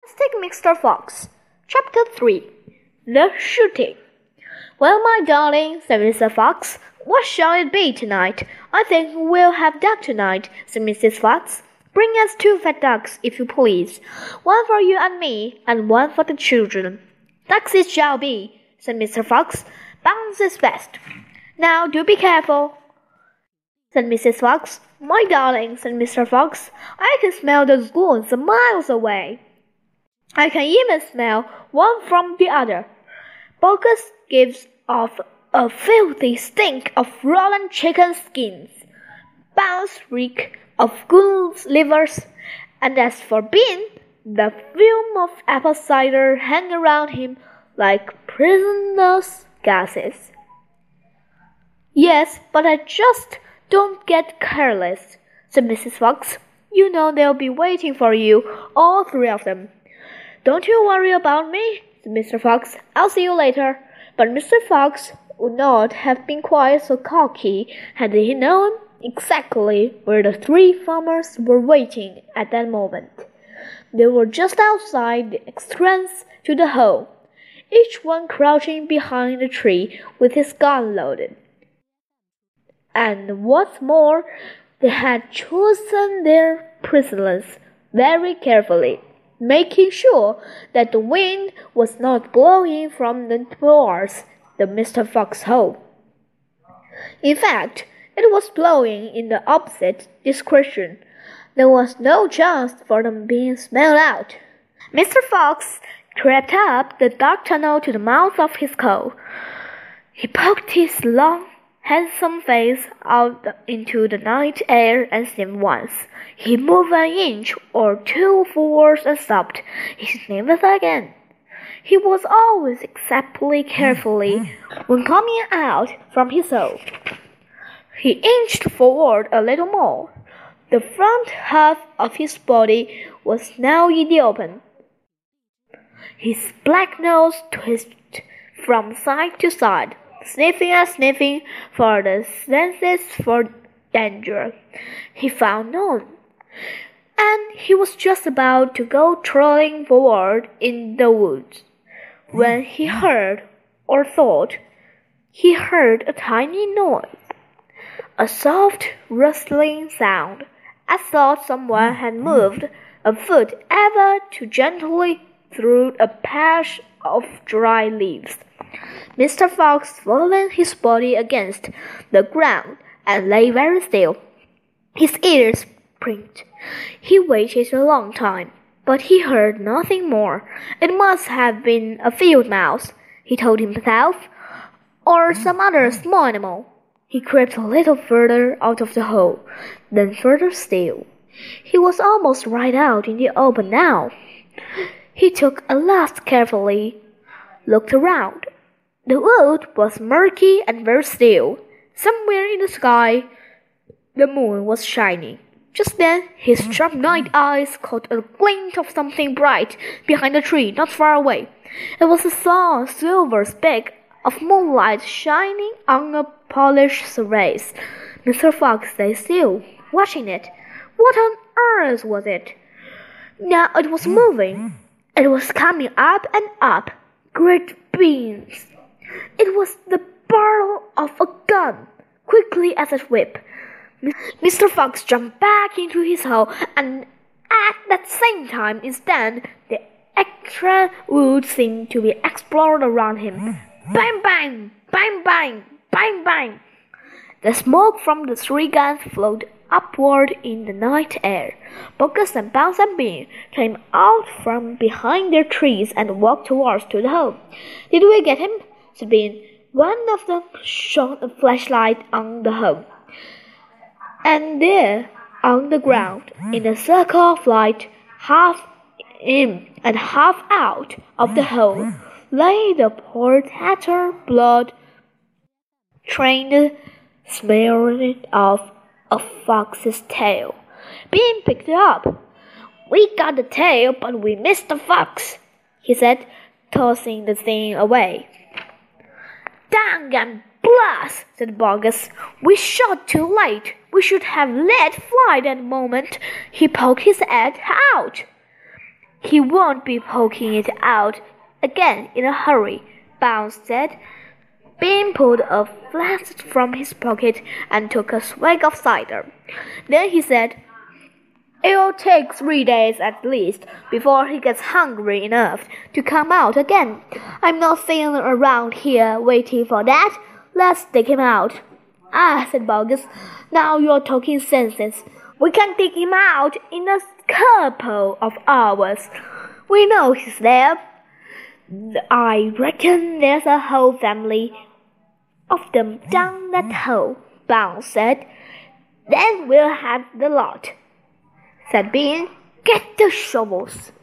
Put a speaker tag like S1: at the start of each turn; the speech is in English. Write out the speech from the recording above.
S1: Fantastic Mr. Fox. Chapter 3. The Shooting. "Well, my darling," said Mr. Fox, "what shall it be tonight?" "I think we'll have duck tonight," said Mrs. Fox. "Bring us 2 fat ducks, if you please. 1 for you and me, and 1 for the children." "Ducks it shall be," said Mr. Fox. "Bounce is best." "Now do be careful," said Mrs. Fox. "My darling," said Mr. Fox, "I can smell the scones a miles away. I can even smell one from the other. Bogus gives off a filthy stink of rotten chicken skins. Bounce reek of goose livers, and as for Bean, the fume of apple cider hang around him like poisonous gases." "Yes, but I just don't get careless," said Mrs. Fox. "You know they'll be waiting for you, all 3 of them." "Don't you worry about me," said Mr. Fox. "I'll see you later." But Mr. Fox would not have been quite so cocky had he known exactly where the 3 farmers were waiting at that moment. They were just outside the entrance to the hole, each one crouching behind a tree with his gun loaded. And what's more, they had chosen their prisoners very carefully, making sure that the wind was not blowing from towards the Mr. Fox hole. In fact, it was blowing in the opposite direction. There was no chance for them being smelled out. Mr. Fox crept up the dark tunnel to the mouth of his hole. He poked his long, handsome face out into the night air and sniffed once. He moved an inch or 2 forward and stopped. He sniffed again. He was always exceptionally carefully when coming out from his hole. He inched forward a little more. The front half of his body was now in the open. His black nose twisted from side to side, sniffing and sniffing for the senses for danger. He found none, and he was just about to go trotting forward in the woods when he heard, or thought he heard, a tiny noise, a soft rustling sound, as though someone had moved a foot ever too gently through a patch of dry leaves. Mr. Fox flung his body against the ground and lay very still. His ears pricked. He waited a long time, but he heard nothing more. It must have been a field mouse, he told himself, or some other small animal. He crept a little further out of the hole, then further still. He was almost right out in the open now. He took a last carefully looked around. The wood was murky and very still. Somewhere in the sky, the moon was shining. Just then, his sharp night eyes caught a glint of something bright behind a tree not far away. It was a small silver speck of moonlight shining on a polished surface. Mr. Fox lay still, watching it. What on earth was it? Now it was moving. It was coming up and up, great beams. It was the barrel of a gun, quickly as a whip. Mr. Fox jumped back into his hole, and at that same time instant, the extra wood seemed to be exploded around him. Bang, bang, bang, bang, bang, bang. The smoke from the 3 guns floated upward in the night air. Bogus and Bounce and Bean came out from behind their trees and walked towards the hole. "Did we get him?" said Bean. One of them shone a flashlight on the hole. And there, on the ground, in a circle of light, half in and half out of the hole, lay the poor tattered blood-trained smearing of a fox's tail. Bean picked it up. "We got the tail, but we missed the fox," he said, tossing the thing away. "Dang and blast," said Bogus. "We shot too late. We should have let fly that moment." He poked his head out. He won't be poking it out again in a hurry, Bounce said. Bean pulled a flask from his pocket and took a swig of cider. Then he said, "It'll take 3 days at least before he gets hungry enough to come out again. I'm not sitting around here waiting for that. Let's dig him out." "Ah," said Bugs, "now you're talking sense. We can dig him out in a couple of hours. We know he's there. I reckon there's a whole family of them down that hole," Bounce said. "Then we'll have the lot," said Bean. "Get the shovels."